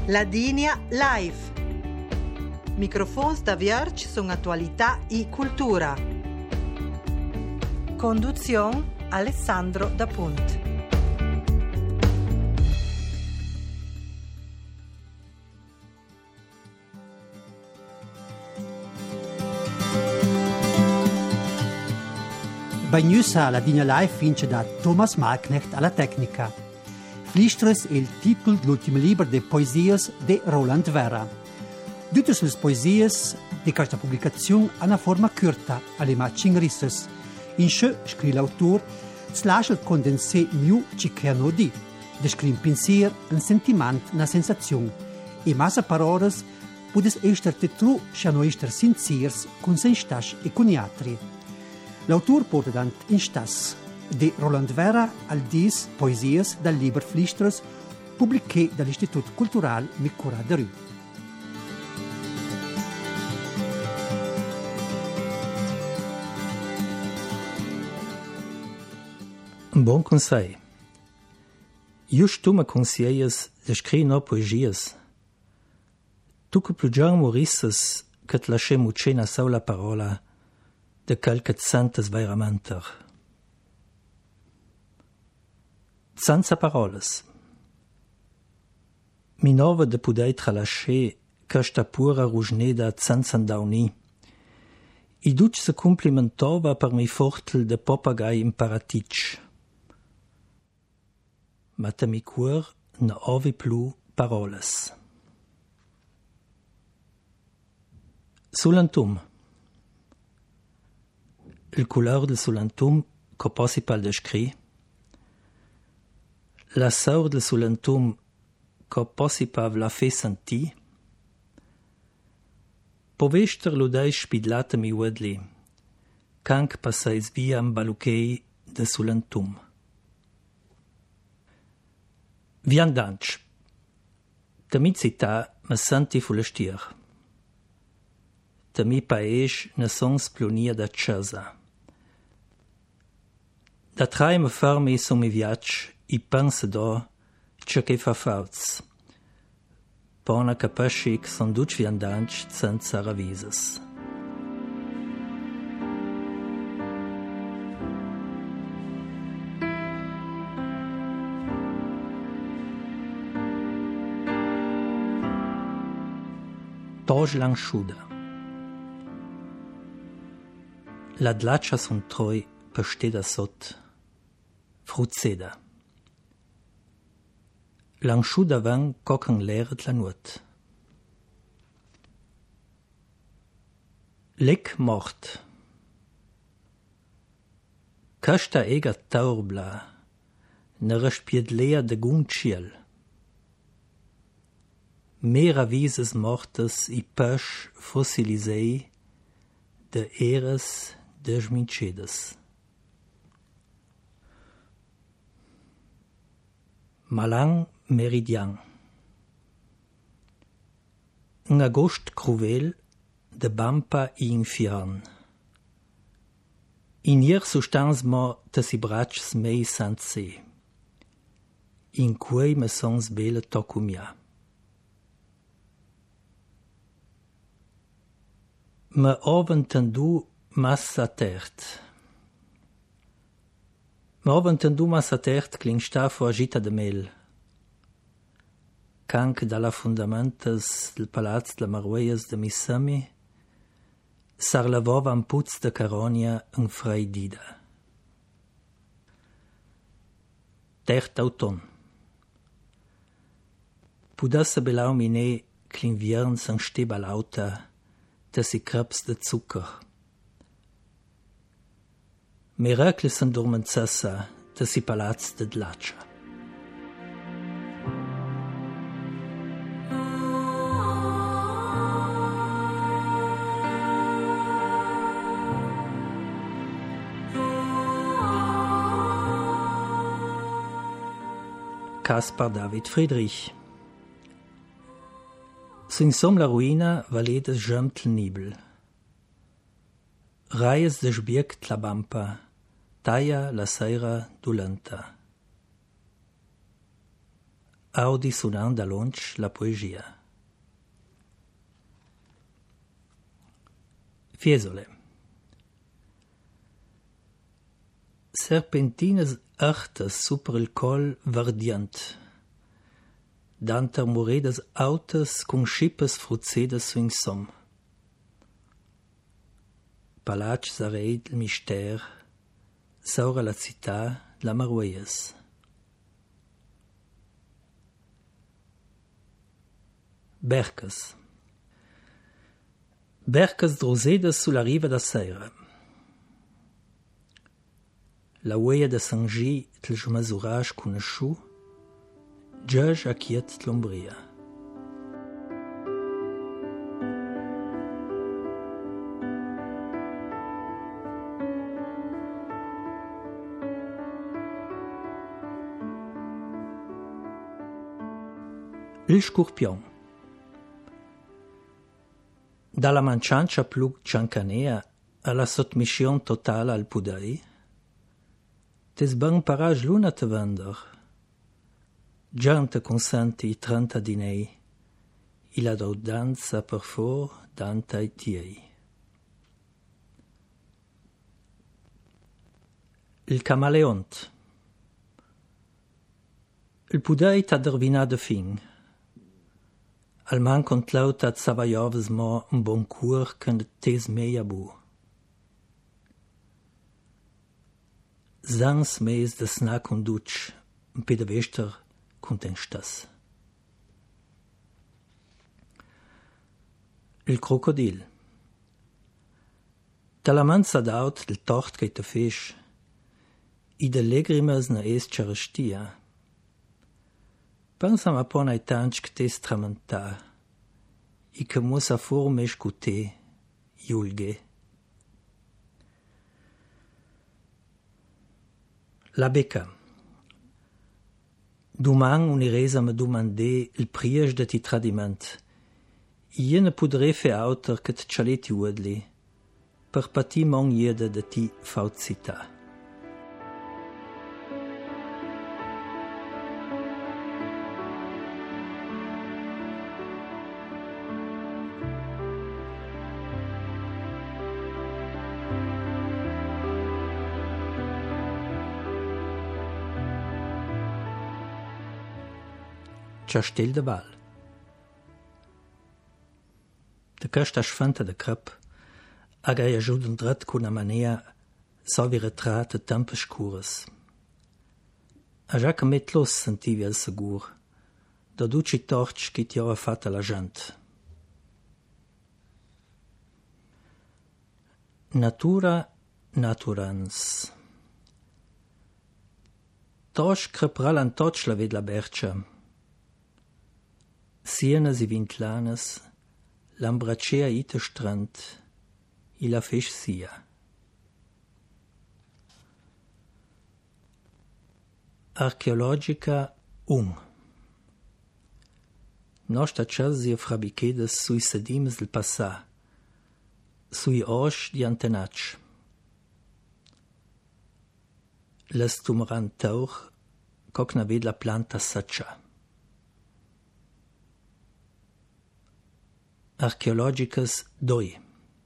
Ladinia Live. Microfons da Vierge sono attualità e cultura. Conduzione Alessandro Da Punt. Bagnusa la Dina Live vince da Thomas Malknecht alla tecnica. Flistres è il titolo dell'ultimo libro di poesie di Roland Werra. Tutte le poesie di questa pubblicazione hanno una forma corta, alle macchine risses. In cui, scrive l'autore, si lascia il condensé miù ci creano di. Descrive un pensiero, un sentimento, una sensazione. E massa parole può essere tetru, se non essere sinceri con se stesso e con gli altri. L'autore porta davanti in stas di Roland Werra al 10 poesie dal libro Flistres, pubblicate dall'Istituto Culturale Micura de Rue. Un buon consiglio. Just tu mi consiglias di scrivere poesie. Tu che più già morisses che ti lasciamo una sola parola de qualche santes veramenter. Senza paroles. Mi nova de poder tralascer questa pura rugneda senza dauni. I duc se complimentova per mi fortel de papagai in paratic. Ma te mi cuor ne ovi plu paroles. Sulantum. Il couleur del sulantum che posi pal descri, la saur del sulantum che posi pav la fe senti, povester ludai spidlata mi wedli, canc passais viam baluchei de sulantum. Viandanch, da mi città me senti fulestier. Da mi paese ne sons plunia da casa. Da trai me fermi su mi viac, I pensa da, ciò che fa fauts. Pona capisci che son duc viandanch senza ravises. Toj langsciuda. La dlaccia son troi pesteda sot. Fruzzeda. Langsciuda van cocan leret la nuot. Lec mort. Casta ega taurbla, ne respied lea de gun ciel. Mera vises mortes I pesch fossilisei de eres desmincedes. Malang meridian. Un agost cruvel de bampa I infiern. In ier sustans mo te si brachs mei sant se. In cui me sons bele tocumia. Me oventendu massa tert. Ma oventendu massa tert clingsta fu agita de mel. Canc dalla fundamentas del palaz de Marueias de Missami s'arlavova un puz de caronia en freidida. Tert auton. Pudasse belau mine clinviern san steba lauta da si creps de Zucker. Miracles san dormentsassa da si palaz de dlaccia. Caspar David Friedrich. Sin som la ruina valedes gemtl nibel. Raies de sbiect la bampa, taia la seira dolenta. audi sunan da lunch la poesia. Fiesole. Serpentinas artas super il col verdiant. Danter moredas autas con schippes fruzedas su in som. Palac sareid il mister, saura la città la Marueias. Bercas. Bercas drosedas sulla riva da Seira. La ueia de Saint-Gy tel jumasurage conosciu, giaž a chiet l'Umbria. Il Scorpion. Dalla manciancia plug ciancanea alla sotmission totale al pudai, tes ben parage luna te vender. Giante consenti 30 dinei, il a danza per for danta i tiei. Il camaleont. Il pudai t'ha dervina de fin. Al man contlaut at savaiovs mo un bon cur când tes meia bu. Zans meis de sna conduc, un pe de vester contenstas. Il crocodil. Dalla manza d'aut del tort che te fisch, i de legrimas na es charestia. Pensam a pon ai tanch que tes tramenta, i que mus a forme escute, iulge. La becca. Duman uniresa me dumande il priege de ti tradiment. I ne pudre fe auter que t'chaleti uedli, per pati mon iede de ti fauzita. Chastel de Val. De casta sfanta de crap, agai ajuden dret con a manea sovi retrat de tempes scures. A già che met los sentivi al segur, da duci torch che ti ora fatta la gent. Natura naturans. Tosch crepral an toch la ved la bercia. Sienas i vintlanas, l'ambracea ite strand, i la fech sia. Archeologica Nostra chasi frabichedas sui sedims del passà, sui osch di antenach. Las tumeran tauch, cocna ved la planta saccia. Archeologicas 2.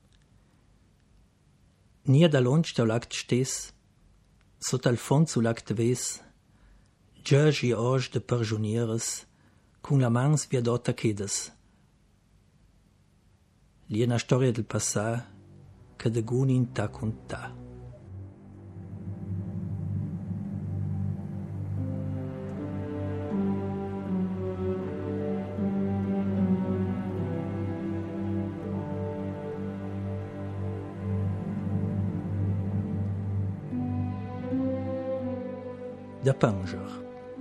Nia da lunch tau lagt stes, sot al fond su lagt ves, giaž i osch de perjunieres, cun la mans via dota chedes. Li è una storia del passà che de gunin ta conta. Da Panger.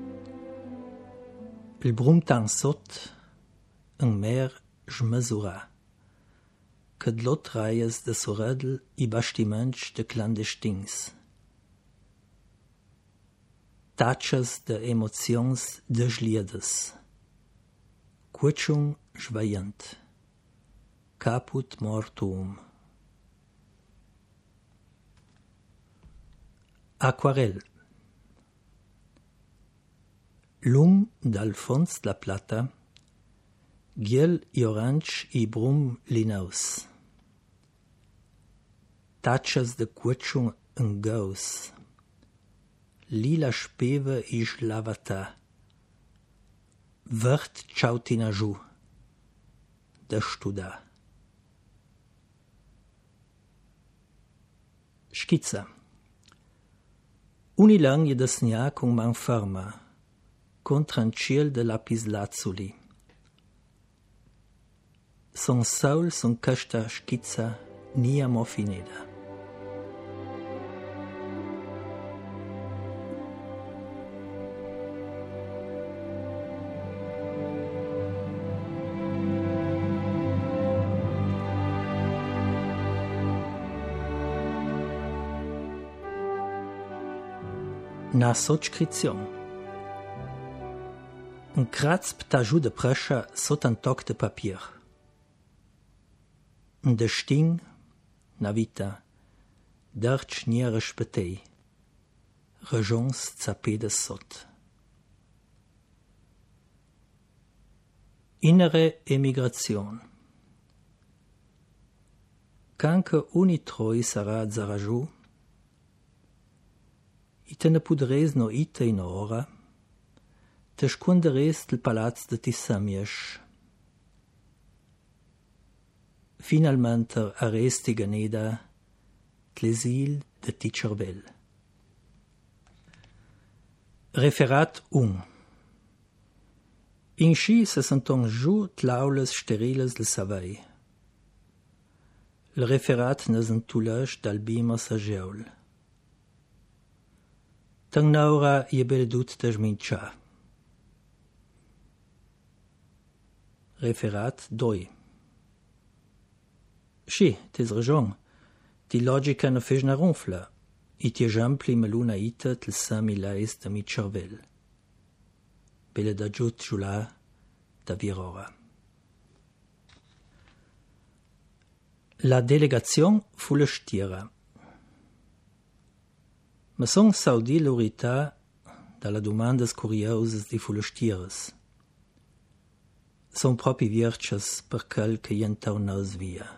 Il brumtan sot, un mer schmesura, che d'lot raies de soredel i bastiments de clandestins. Tatschas de emotions desliedes. Quetschung schweient. Caput mortuum. Aquarell. Lum dal fons la plata, giel i orange i brum linaus. Tachas de cuatschung en gaus. Lila speve i schlavata. Vert chautina giù. Da studa. Schizza. Unilang je da snia con man ferma, contra un ciel de lapislazzuli. Son saul son casta schizza nia mofineda. Na sotscrizion. Un kratz ptajou de prescha sot un toc de papier. Un de sting, na vita, derch nia respetei. Rejons zapé de sot. Innere emigration. Canque unitroi sarà zarajou, ite ne pudres no ite in ora, te squanderes del palaz de Tissamiesch. Finalmente arresti ganeda l'esil de Ticervel. Referat 1. In sci se senton giù tlaules steriles del savai. Le referat ne sentulage dal bima sageul. Tang naura je beledut da smincia. Referat 2. Sci, tes ragion. Ti logica ne fes na ronfla. I ti ejampli meluna ita tel sami lais da mi cervel. Bele da giut giula da virora. La delegazione fu la stiera. Ma son saudi l'urità dalla domandas curiosas di fu la stieras. Son propi viercias per quel che jentau nos via.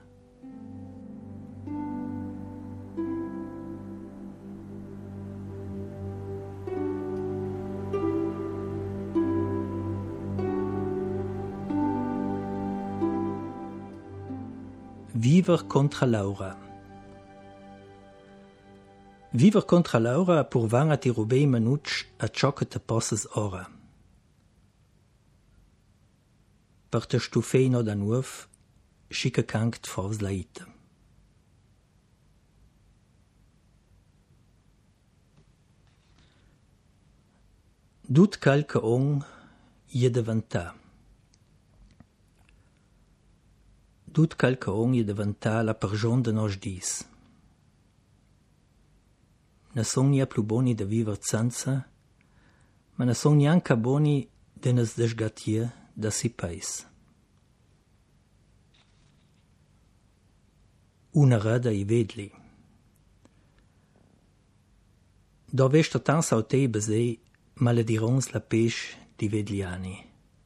Viver contra Laura. Viver contra Laura purvan a ti rubei manucci a ciò che te posses ora. Per te stufei no da nuov, schica canct fors la ita. Dut calca on je devantà. Dut calca on je devantà la pergion de nos dis. Ne son nia plu boni de viver zanza, ma ne son nianca boni de nes desgatie da si pais. Una rada i vedli. Do vesta tan sautei besei maledirons la peš di vedliani.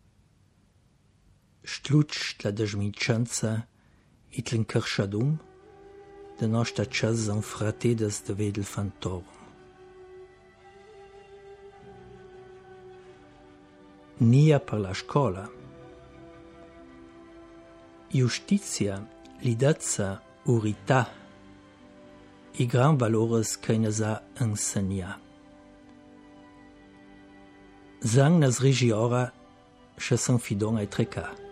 Stluč la dežminčanca i tlinkršadum, de nostra čas zan fratedas de vedel fantorum. Nia per la scola. Justizia, lidazza, urità, i gran valores che ne sa insegna. Zang nas rigi ora, che san fidon ai treca.